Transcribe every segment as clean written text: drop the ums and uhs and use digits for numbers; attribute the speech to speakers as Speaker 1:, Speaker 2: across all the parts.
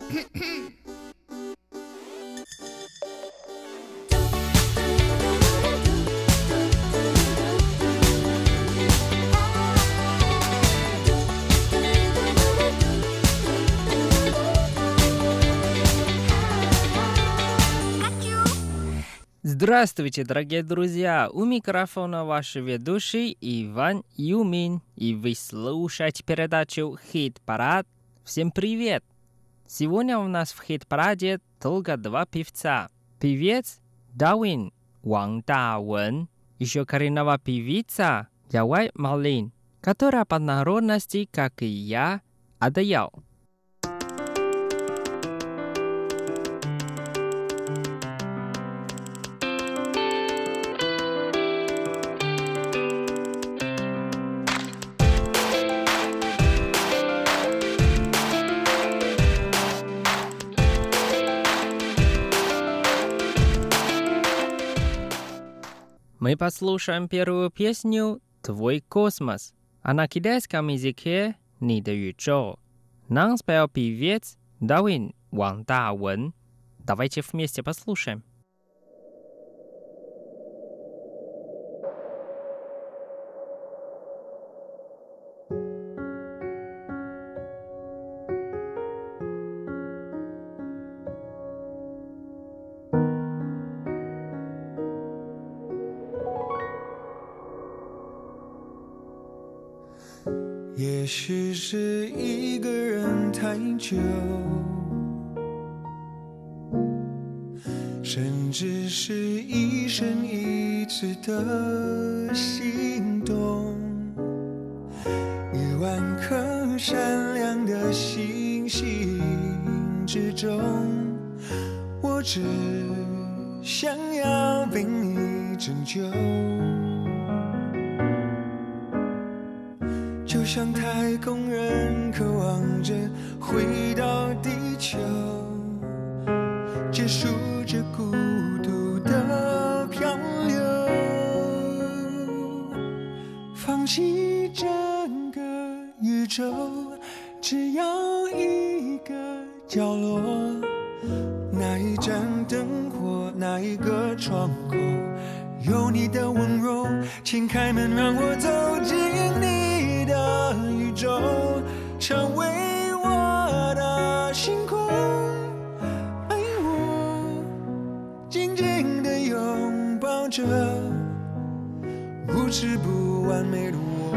Speaker 1: Здравствуйте, дорогие друзья! У микрофона ваш ведущий Иван Юмин, и вы слушаете передачу «Хит-парад». Всем привет! Сегодня у нас в «Хит-параде» только два певца. Певец Дауин Ван Давен, еще коренная певица Явай Малин, которая по народности, как и я, Адаял. Мы послушаем первую песню «Твой космос», а на китайском языке «你的宇宙». Нам спел певец Дауин Ван Давен. Давайте вместе послушаем.
Speaker 2: 也许是一个人太久，甚至是一生一次的心动。10000颗闪亮的星星之中，我只想要被你拯救。就像太空人渴望着回到地球，结束这孤独的漂流，放弃整个宇宙，只要一个角落，那一盏灯火，那一个窗口，有你的温柔，请开门让我走进你的宇宙，成为我的星空，爱我，紧紧地拥抱着无耻不完美的我。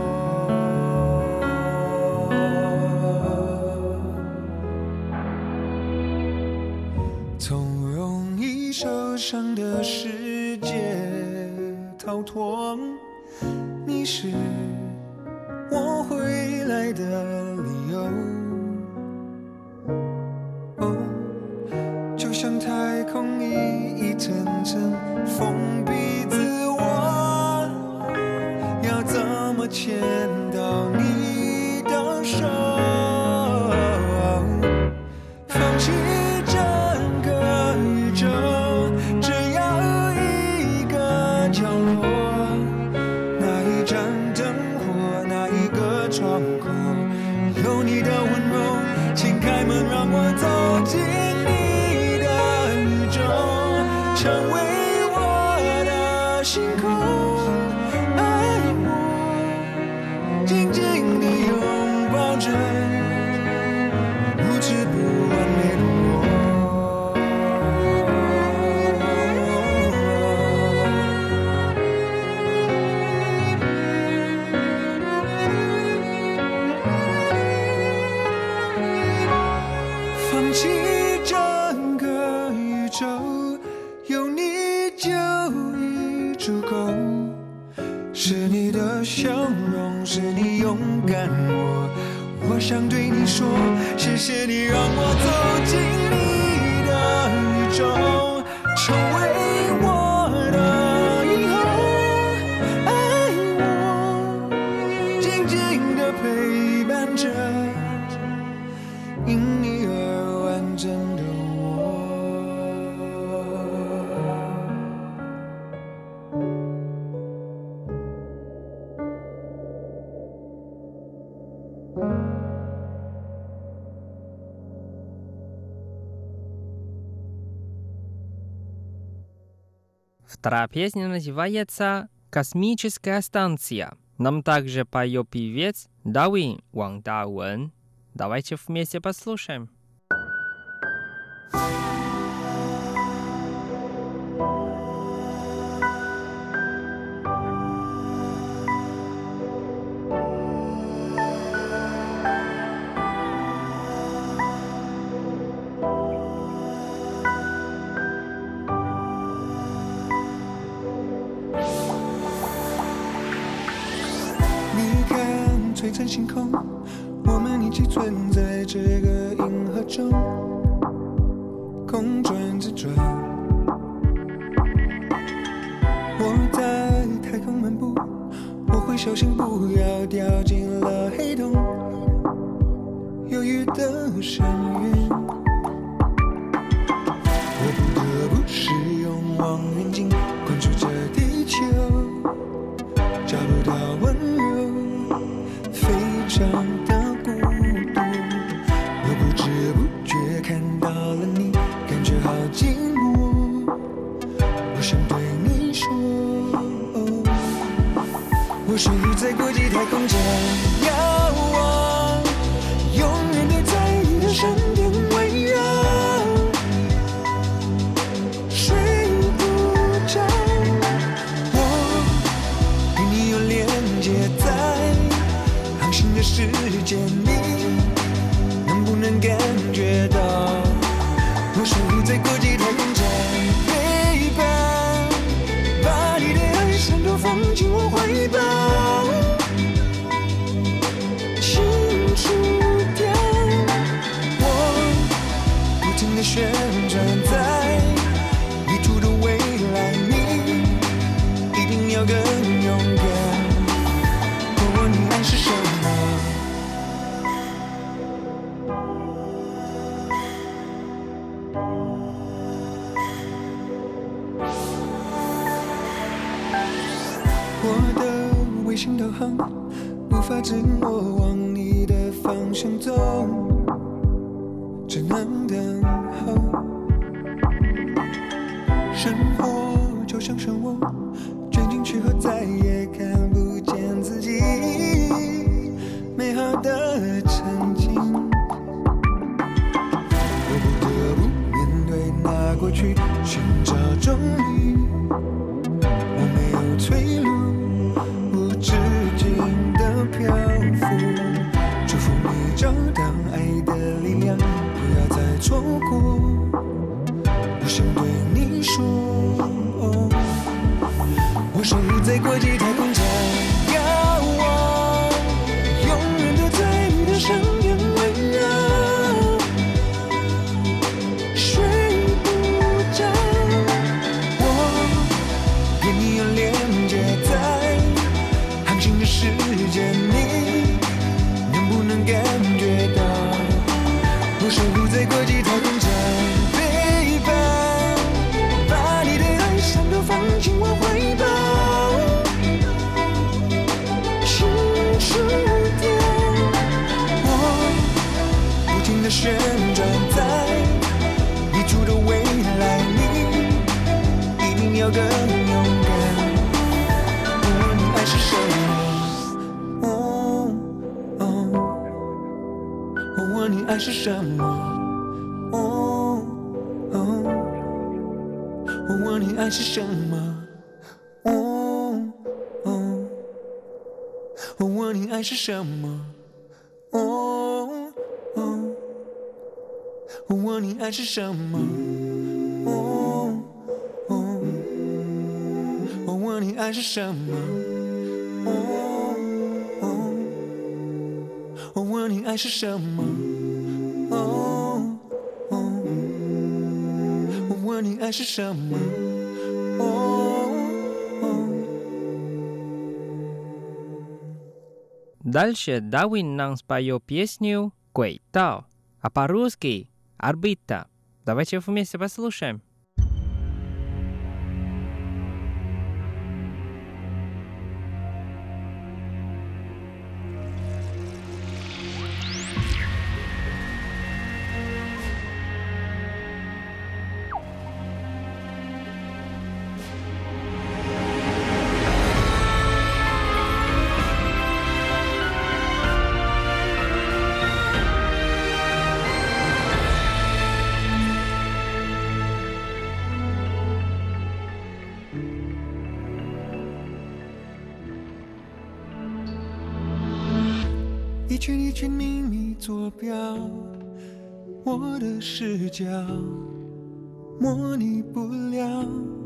Speaker 2: 从容易受伤的世界逃脱，你是我回来的理由。哦，就像太空一层层封闭自我，要怎么牵到你的手？放弃整个宇宙，只要一个角落，那一盏灯火，那一个窗口，有你的温柔，请开门让我走进你的宇宙，成为我的星空，爱我，紧紧地拥抱着无耻不完美的我。放弃整个宇宙，有你就已足够。是你的笑容，是你勇敢我想对你说，谢谢你让我走进你的宇宙，成为我的以后，爱我，紧紧地陪伴着因你而完整的我。
Speaker 1: Вторая песня называется «Космическая станция». Нам также поет певец Давин Ван Давен. Давайте вместе послушаем.
Speaker 2: 璀璨星空，我们一起存在这个银河中，公转自转。我在太空漫步，我会小心不要掉进了黑洞，忧郁的深渊。我不得不使用望远镜关注着地球，找不到温柔，非常的孤独。我不知不觉看到了你，感觉好寂寞。我想对你说，我生活在国际太空站，遥望，永远地在你的身边围绕。睡不着，我与你有连接在航行的世界，你能不能感觉到？我守护在国际太空站，陪伴，把你的爱闪躲放进我怀抱，清楚点，我不停地旋转在你途的未来，你一定要更勇敢。我问你爱是什么？我的卫星导航无法自我往你的方向走，只能等候。生活就像漩涡，卷进去后再也看不见自己美好的曾经。我不得不面对那过去，寻找终于，我没有退路，无止境的漂浮。祝福你找到爱的力量，不要再错过。我想对你说，我守护在国际太空站，遥望，永远都在你的身边围绕。睡不着，我跟你有连接在航行的世界，你能不能感觉到？我守护在国际太空站，陪伴，把你的爱闪躲放进我怀抱，清楚点，我不停地旋转在你住的未来，你一定要更勇敢。我问你爱是什么？我问你爱是什么？我问你爱是什么？我问你爱是什么？我问你爱是什么？我问你爱是什么？我问你爱是什么？我问你爱是什么？
Speaker 1: Дальше Давин нам споет песню «Квейтау», а по-русски «Орбита». Давайте вместе послушаем.
Speaker 2: 一圈一圈秘密坐标，我的视角模拟不了。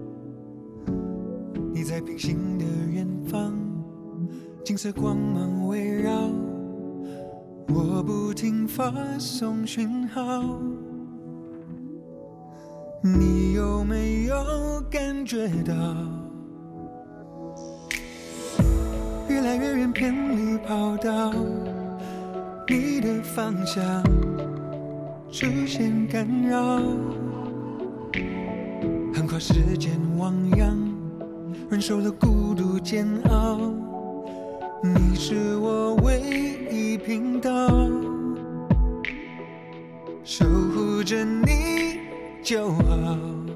Speaker 2: 你在平行的远方，金色光芒围绕，我不停发送讯号。你有没有感觉到，越来越远偏离跑道，你的方向出现干扰，横跨时间汪洋，忍受了孤独煎熬。你是我唯一频道，守护着你就好。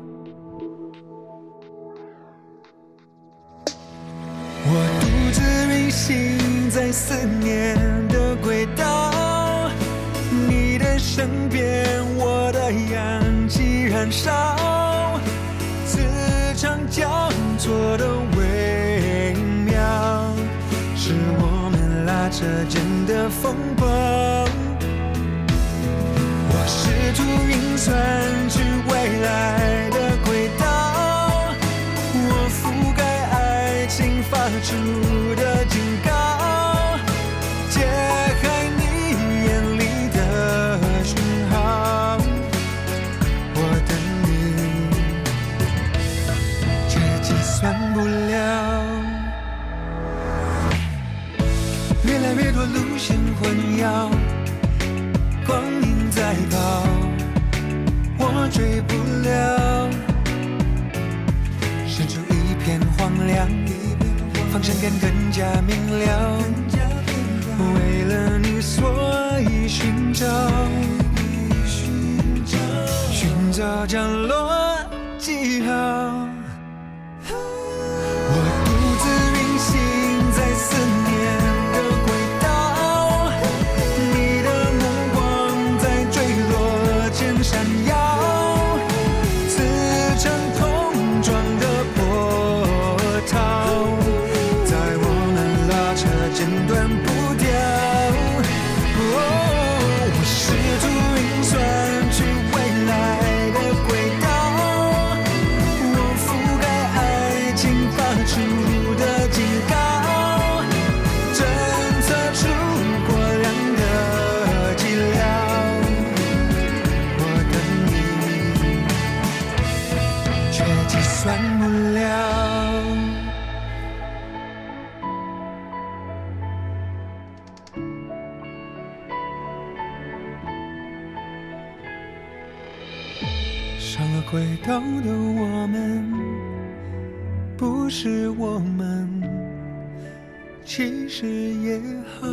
Speaker 2: 我独自运行在思念的轨道，你的身边，我的氧气燃烧，磁场交错的微妙，是我们拉扯间的风暴。我试图运算出未来的轨道，我覆盖爱情发出的警告，解开你眼里的讯号。我等你，却计算不了。越来越多路线混淆，光影在跑，我追不了。伸出一片荒凉，方向感更加明了。为了你，所以寻找降落记号。我独自运行在思念的轨道，你的目光在坠落前闪耀，磁场碰撞的波涛，在我们拉扯间断不掉。我试图运算出未来的轨道，我覆盖爱情发出的警告，侦测出过量的剂量。我等你，却计算不了。上了轨道的我们，不是我们，其实也好。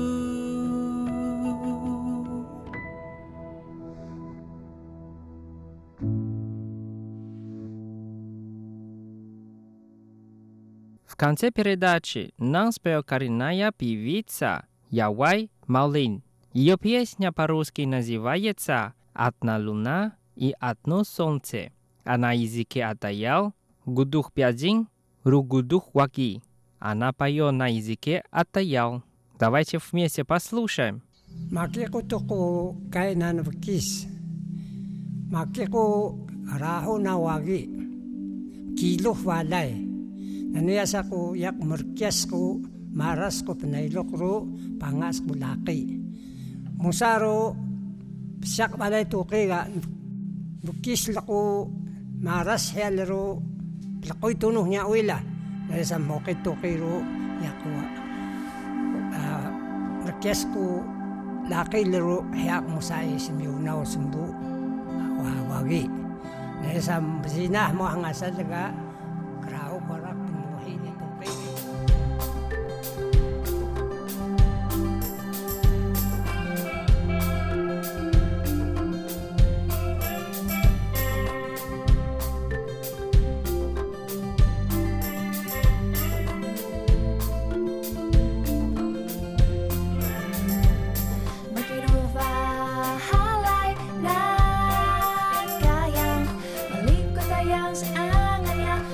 Speaker 1: В конце передачи нам спела коренная певица Явай Маулин. Ее песня по-русски называется «Одна луна и одно солнце», а на языке Атаял «Гудух пядин, ругудух ваги». Она поет на языке Атаял. Давайте вместе послушаем.
Speaker 3: Makikutuku kainan vkis. Makiku raho na wagi. Kiluh walay. Naniyas ako yak merkias ko, maras ko pinailok ro, pangas ko laki. Musaro, siyak walay tuki ga, vkis lako, maras hel ro, lakoy tunuh niya uila. Naniyas ang mokit tuki ro, yak merkias ko, laki laro, hayak musay simyunaw sumbu, wagi. Naniyas ang basinah mo ang asal laga, krao korak.
Speaker 4: Halay na kayang malikot ayang sa angan niya.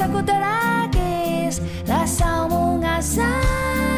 Speaker 4: rasaku teragis, rasamu ngasah.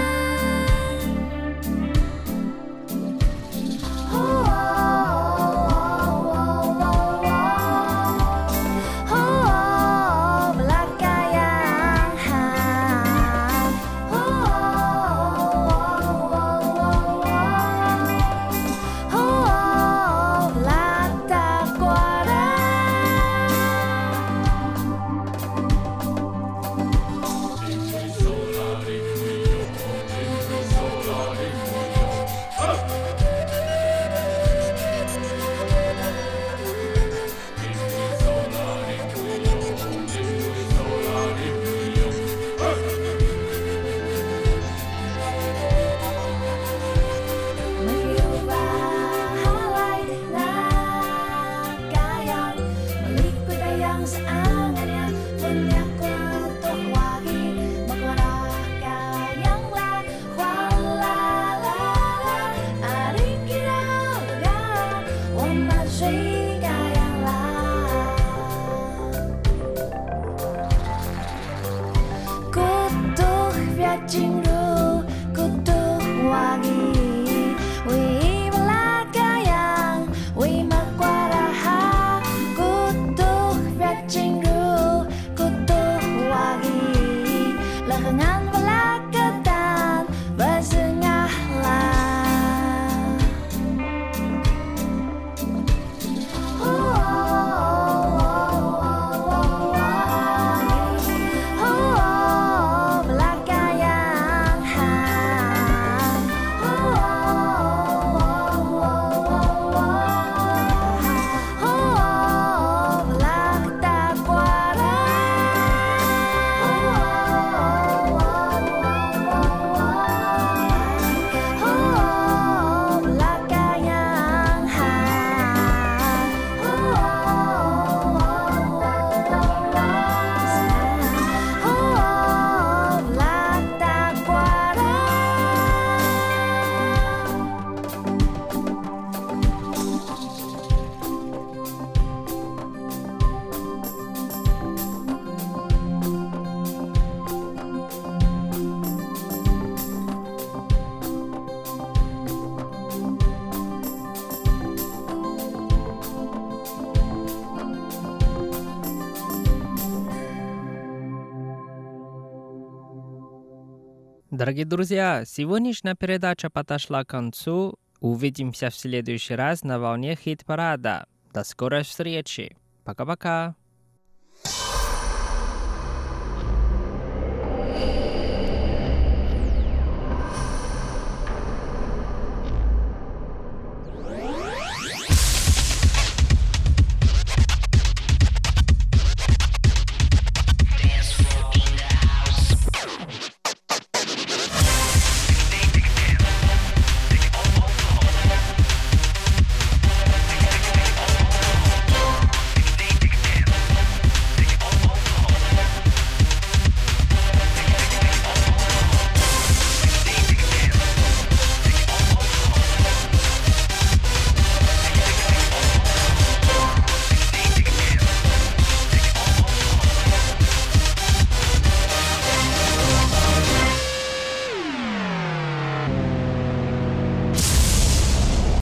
Speaker 1: Дорогие друзья, сегодняшняя передача подошла к концу. Увидимся в следующий раз на волне хит-парада. До скорой встречи. Пока-пока.